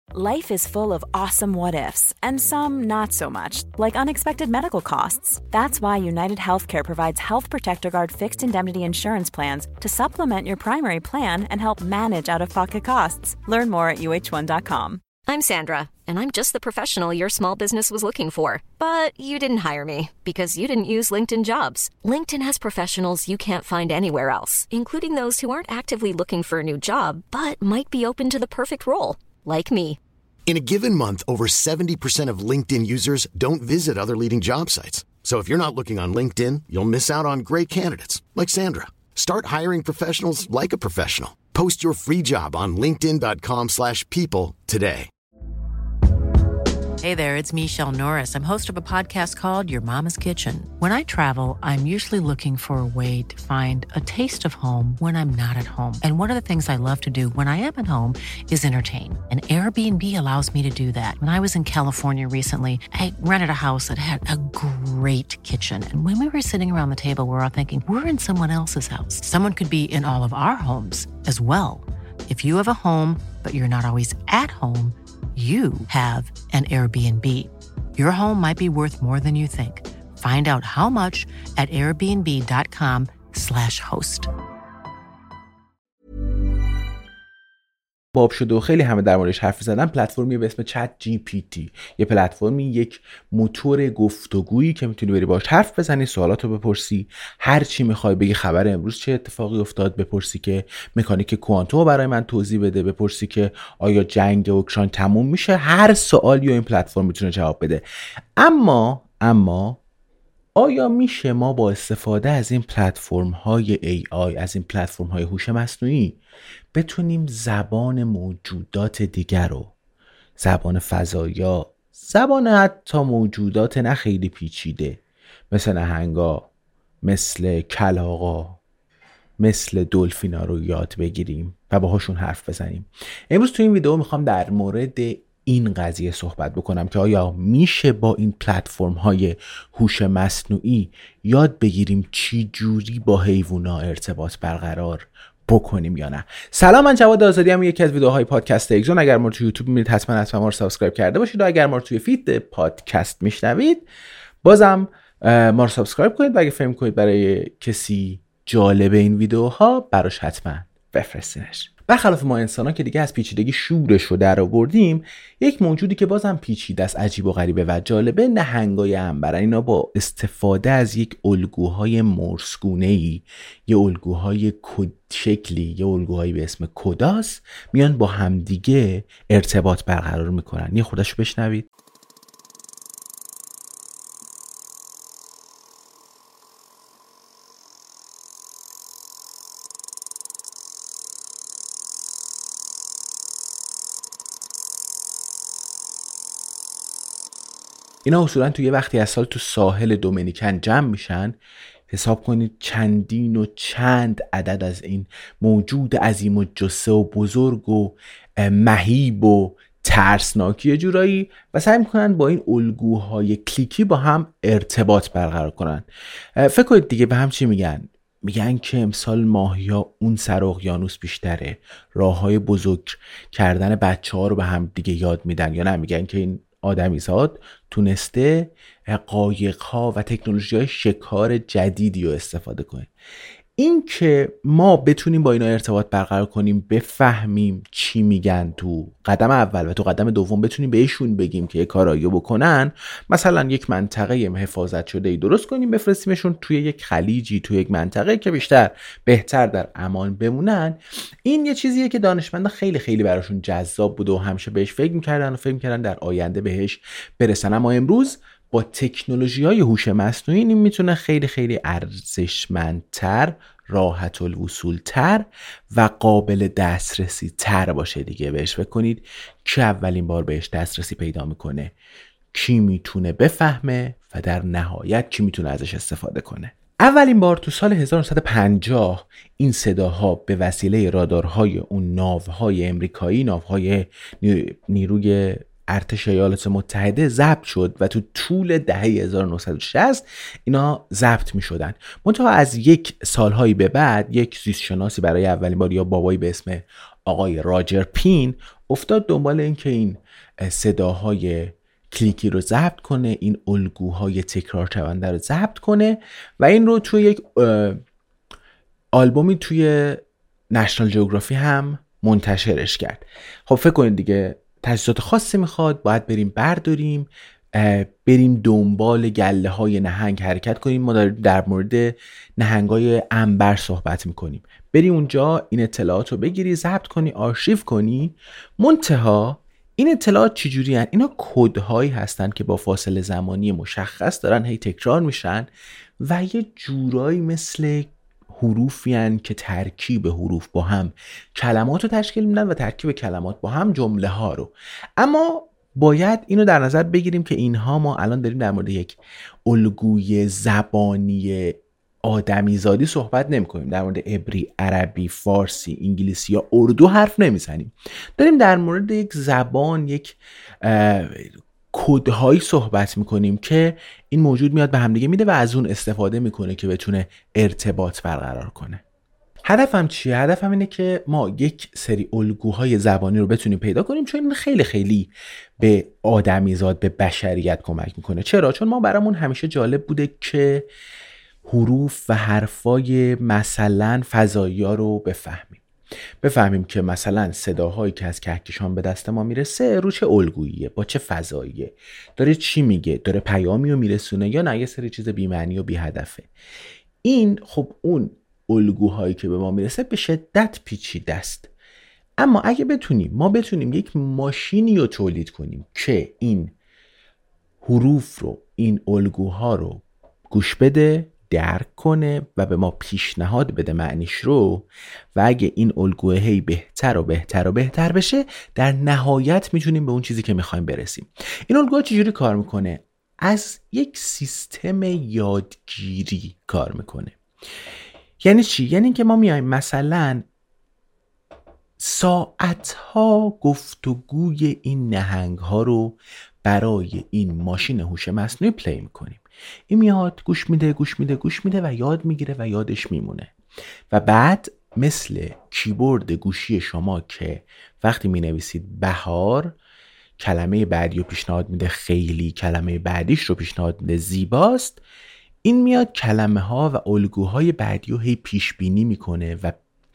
Life is full of awesome what-ifs, and some not so much, like unexpected medical costs. That's why United Healthcare provides Health Protector Guard fixed indemnity insurance plans to supplement your primary plan and help manage out-of-pocket costs. Learn more at uh1.com. I'm Sandra, and I'm just the professional your small business was looking for. But you didn't hire me because you didn't use LinkedIn Jobs. LinkedIn has professionals you can't find anywhere else, including those who aren't actively looking for a new job, but might be open to the perfect role, like me. In a given month, over 70% of LinkedIn users don't visit other leading job sites. So if you're not looking on LinkedIn, you'll miss out on great candidates like Sandra. Start hiring professionals like a professional. Post your free job on linkedin.com/people today. Hey there, it's Michelle Norris. I'm host of a podcast called Your Mama's Kitchen. When I travel, I'm usually looking for a way to find a taste of home when I'm not at home. And one of the things I love to do when I am at home is entertain. And Airbnb allows me to do that. When I was in California recently, I rented a house that had a great kitchen. And when we were sitting around the table, we were all thinking, we're in someone else's house. Someone could be in all of our homes as well. If you have a home, but you're not always at home, you have an Airbnb. Your home might be worth more than you think. Find out how much at airbnb.com/host. باب شده و خیلی همه در موردش حرف زدن. پلتفرمی به اسم چت جی پی تی، یه پلتفرمی، یک موتور گفتگویی که میتونی بری باهاش حرف بزنی، سوالاتو بپرسی، هر چی میخوای بگی، خبر امروز چه اتفاقی افتاد، بپرسی که مکانیک کوانتوم برای من توضیح بده، بپرسی که آیا جنگ اوکراین تموم میشه. هر سوالی رو این پلتفرم میتونه جواب بده. اما آیا میشه ما با استفاده از این پلتفرم های AI، از این پلتفرم های هوش مصنوعی، بتونیم زبان موجودات دیگر رو، زبان فضایا، زبان حتی موجودات نه خیلی پیچیده مثل نهنگا، مثل کلاغا، مثل دلفینا رو یاد بگیریم و باهاشون حرف بزنیم؟ امروز تو این ویدیو میخوام در مورد این قضیه صحبت بکنم که آیا میشه با این پلتفرم های هوش مصنوعی یاد بگیریم چی جوری با حیوونا ارتباط برقرار بکنیم یا نه. سلام، من جواد آزادی ام. یکی از ویدیوهای پادکست اگزون. اگر ما رو تو یوتیوب میبینید حتما ما رو سابسکرایب کرده باشید و اگر ما رو توی فید پادکست میشنوید بازم ما رو سابسکرایب کنید و اگه فهم کنید برای کسی جالب این ویدیوها براش حتما بفرستینش. برخلاف ما انسان‌ها که دیگه از پیچیدگی شورش رو در آوردیم، یک موجودی که بازم پیچیده است، عجیب و غریبه و جالبه، نهنگای عنبرن. اینا با استفاده از یک الگوهای مرس‌گونه‌ای، یه الگوهای کد شکلی، یه الگوهایی به اسم کداس، میان با همدیگه ارتباط برقرار میکنن. یه خودشو بشنوید. اینا اصولا تو یه وقتی از سال تو ساحل دومینیکن جمع میشن. حساب کنید چندین و چند عدد از این موجود عظیم و جثه و بزرگ و مهیب و ترسناکی جورایی و سعی میکنن با این الگوهای کلیکی با هم ارتباط برقرار کنن. فکر کنید دیگه به هم چی میگن؟ میگن که امسال ماهیا اون سر اقیانوس بیشتره، راههای بزرگ کردن بچه‌ها رو به هم دیگه یاد میدن، یا نه میگن که این آدمیزاد تونسته قایق‌ها و تکنولوژی‌های شکار جدیدی رو استفاده کنه. این که ما بتونیم با اینا ارتباط برقرار کنیم، بفهمیم چی میگن تو قدم اول و تو قدم دوم بتونیم بهشون بگیم که یه کارایی بکنن، مثلا یک منطقه حفاظت شده‌ای درست کنیم، بفرستیمشون توی یک خلیجی، توی یک منطقه که بهتر در امان بمونن. این یه چیزیه که دانشمندا خیلی خیلی براشون جذاب بود و همیشه بهش فکر می‌کردن در آینده بهش برسن. اما امروز با تکنولوژی‌های هوش مصنوعی این میتونه خیلی خیلی ارزشمندتر، راحت الوصول‌تر و قابل دسترسی تر باشه دیگه. بهش فکر کنید که اولین بار بهش دسترسی پیدا میکنه، کی میتونه بفهمه و در نهایت کی میتونه ازش استفاده کنه. اولین بار تو سال 1950 این صداها به وسیله رادارهای اون ناوهای امریکایی، ناوهای نیروی ارتش ایالات متحده ضبط شد و تو طول دهه 1960 اینا ضبط می شدن. منتها از یک سالهایی به بعد یک زیستشناسی برای اولین بار، یا بابایی به اسم آقای راجر پین، افتاد دنبال این که این صداهای کلیکی رو ضبط کنه، این الگوهای تکرار شونده رو ضبط کنه و این رو توی یک آلبومی توی نشنال جیوگرافی هم منتشرش کرد. خب فکر کنید دیگه تجهیزات خاصی میخواد، باید بریم برداریم، بریم دنبال گله های نهنگ حرکت کنیم. ما داریم در مورد نهنگ های عنبر صحبت میکنیم. بری اونجا این اطلاعات رو بگیری، ضبط کنی، آرشیو کنی. منتها این اطلاعات چجوری هستن؟ اینا کدهایی هستن که با فاصله زمانی مشخص دارن هی تکرار میشن و یه جورایی مثل حروفی هستن که ترکیب حروف با هم کلمات رو تشکیل میدن و ترکیب کلمات با هم جمله ها رو. اما باید اینو در نظر بگیریم که اینها، ما الان داریم در مورد یک الگوی زبانی آدمیزادی صحبت نمی کنیم، در مورد عبری، عربی، فارسی، انگلیسی یا اردو حرف نمیزنیم. داریم در مورد یک زبان، یک کدهایی صحبت میکنیم که این موجود میاد به همدیگه میده و از اون استفاده میکنه که بتونه ارتباط برقرار کنه. هدفم چیه؟ هدفم اینه که ما یک سری الگوهای زبانی رو بتونیم پیدا کنیم، چون این خیلی خیلی به آدمیزاد، به بشریت کمک میکنه. چرا؟ چون ما برامون همیشه جالب بوده که حروف و حرفای مثلا فضایی‌ها رو بفهمیم که مثلا صداهایی که از کهکشان به دست ما میرسه رو چه الگوییه، با چه فضاییه، داره چی میگه، داره پیامی رو میرسونه یا نه یه سری چیز بی‌معنی و بی‌هدفه. این خب اون الگوهایی که به ما میرسه به شدت پیچیده است. اما اگه ما بتونیم یک ماشینی رو تولید کنیم که این حروف رو، این الگوها رو گوش بده، درک کنه و به ما پیشنهاد بده معنیش رو، و اگه این الگوه هی بهتر و بهتر و بهتر بشه، در نهایت میتونیم به اون چیزی که میخوایم برسیم. این الگوها چجوری کار میکنه؟ از یک سیستم یادگیری کار میکنه. یعنی چی؟ یعنی که ما میایم مثلا ساعتها گفتگوی این نهنگ ها رو برای این ماشین هوش مصنوعی پلی میکنیم. این میاد گوش میده و یاد میگیره و یادش میمونه. و بعد مثل کیبورد گوشی شما که وقتی مینویسید بهار، کلمه بعدی رو پیشنهاد میده خیلی، کلمه بعدیش رو پیشنهاد میده زیباست، این میاد کلمه ها و الگوهای بعدی رو هی پیش بینی میکنه و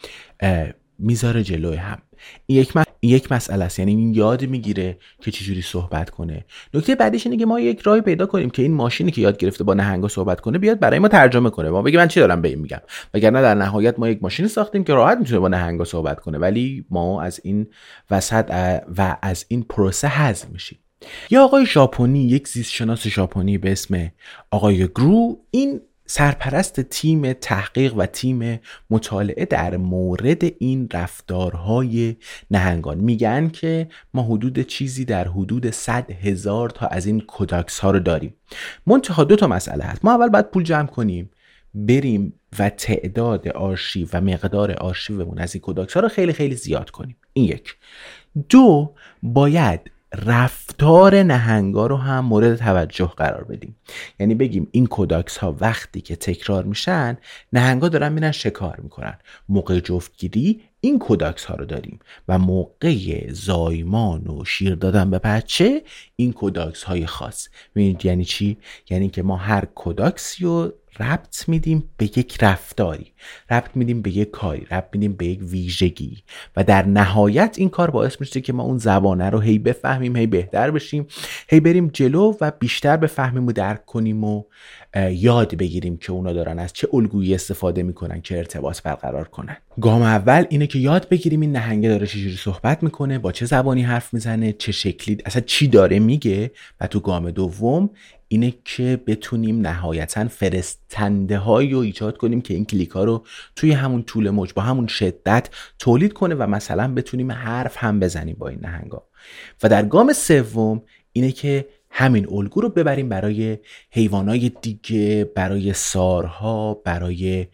میذاره جلوی هم. این یک مسئله است، یعنی این یاد میگیره که چجوری صحبت کنه. نکته بعدیش اینه که ما یک راهی پیدا کنیم که این ماشینی که یاد گرفته با نهنگا صحبت کنه بیاد برای ما ترجمه کنه، ما بگیم من چی دارم به این میگم، وگرنه در نهایت ما یک ماشینی ساختیم که راحت میتونه با نهنگا صحبت کنه، ولی ما از این وسط و از این پروسه حذف میشیم. یا آقای ژاپنی، یک زیستشناس ژاپنی به اسم آقای گرو، این سرپرست تیم تحقیق و تیم مطالعه در مورد این رفتارهای نهنگان، میگن که ما حدود چیزی در حدود 100,000 تا از این کداکس ها رو داریم. منتها 2 مسئله هست. ما اول باید پول جمع کنیم، بریم و تعداد آرشیو و مقدار آرشیومون از این کداکس ها رو خیلی خیلی زیاد کنیم. این 1. 2 باید رفتار نهنگا رو هم مورد توجه قرار بدیم. یعنی بگیم این کداکس ها وقتی که تکرار میشن، نهنگا دارن میرن شکار میکنن. موقع جفتگیری این کداکس ها رو داریم و موقع زایمان و شیر دادن به بچه این کداکس های خاص. می‌بینید یعنی چی؟ یعنی که ما هر کداکسی رو ربط میدیم به یک رفتاری، ربط میدیم به یک کاری، ربط میدیم به یک ویژگی و در نهایت این کار باعث میشه که ما اون زبانه رو هی بفهمیم، هی بهتر بشیم، هی بریم جلو و بیشتر بفهمیم و درک کنیم و یاد بگیریم که اونا دارن از چه الگویی استفاده میکنن که ارتباط برقرار کنن. گام اول اینه که یاد بگیریم این نهنگه داره چجوری صحبت میکنه، با چه زبانی حرف میزنه، چه شکلی، اصلا چی داره میگه. و تو گام دوم اینه که بتونیم نهایتاً فرستنده هایی رو ایجاد کنیم که این کلیک ها رو توی همون طول موج با همون شدت تولید کنه و مثلا بتونیم حرف هم بزنیم با این نهنگا. و در گام سوم اینه که همین الگو رو ببریم برای حیوانات دیگه، برای سارها، برای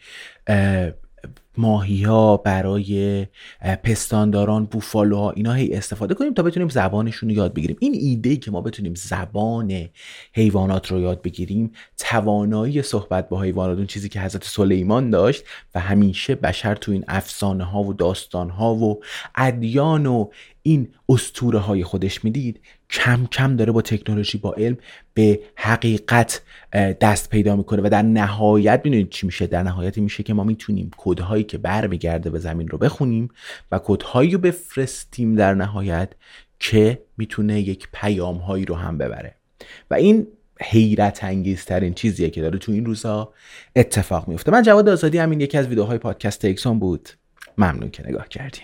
ماهی‌ها، برای پستانداران، بوفالوها، اینا هی استفاده کنیم تا بتونیم زبانشون رو یاد بگیریم. این ایده که ما بتونیم زبان حیوانات رو یاد بگیریم، توانایی صحبت با حیوانات، اون چیزی که حضرت سلیمان داشت و همیشه بشر تو این افسانه ها و داستان ها و ادیان و این اسطوره های خودش میدید کم کم داره با تکنولوژی، با علم به حقیقت دست پیدا میکنه و در نهایت میدونید چی میشه؟ در نهایت میشه که ما میتونیم کدهایی که برمیگرده به زمین رو بخونیم و کدهایی رو بفرستیم در نهایت که میتونه یک پیام هایی رو هم ببره. و این حیرت انگیزترین چیزیه که داره تو این روزا اتفاق میفته. من جواد آزادی، همین یکی از ویدیوهای پادکست اکسون بود. ممنون که نگاه کردین.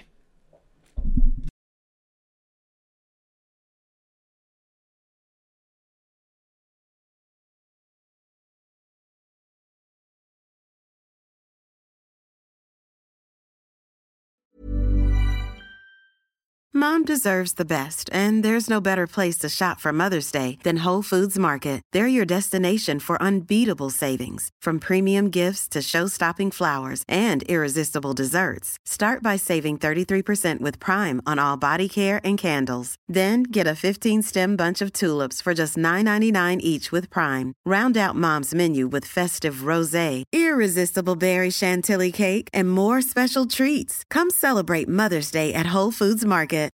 Mom deserves the best, and there's no better place to shop for Mother's Day than Whole Foods Market. They're your destination for unbeatable savings, from premium gifts to show-stopping flowers and irresistible desserts. Start by saving 33% with Prime on all body care and candles. Then get a 15-stem bunch of tulips for just $9.99 each with Prime. Round out Mom's menu with festive rosé, irresistible berry chantilly cake, and more special treats. Come celebrate Mother's Day at Whole Foods Market.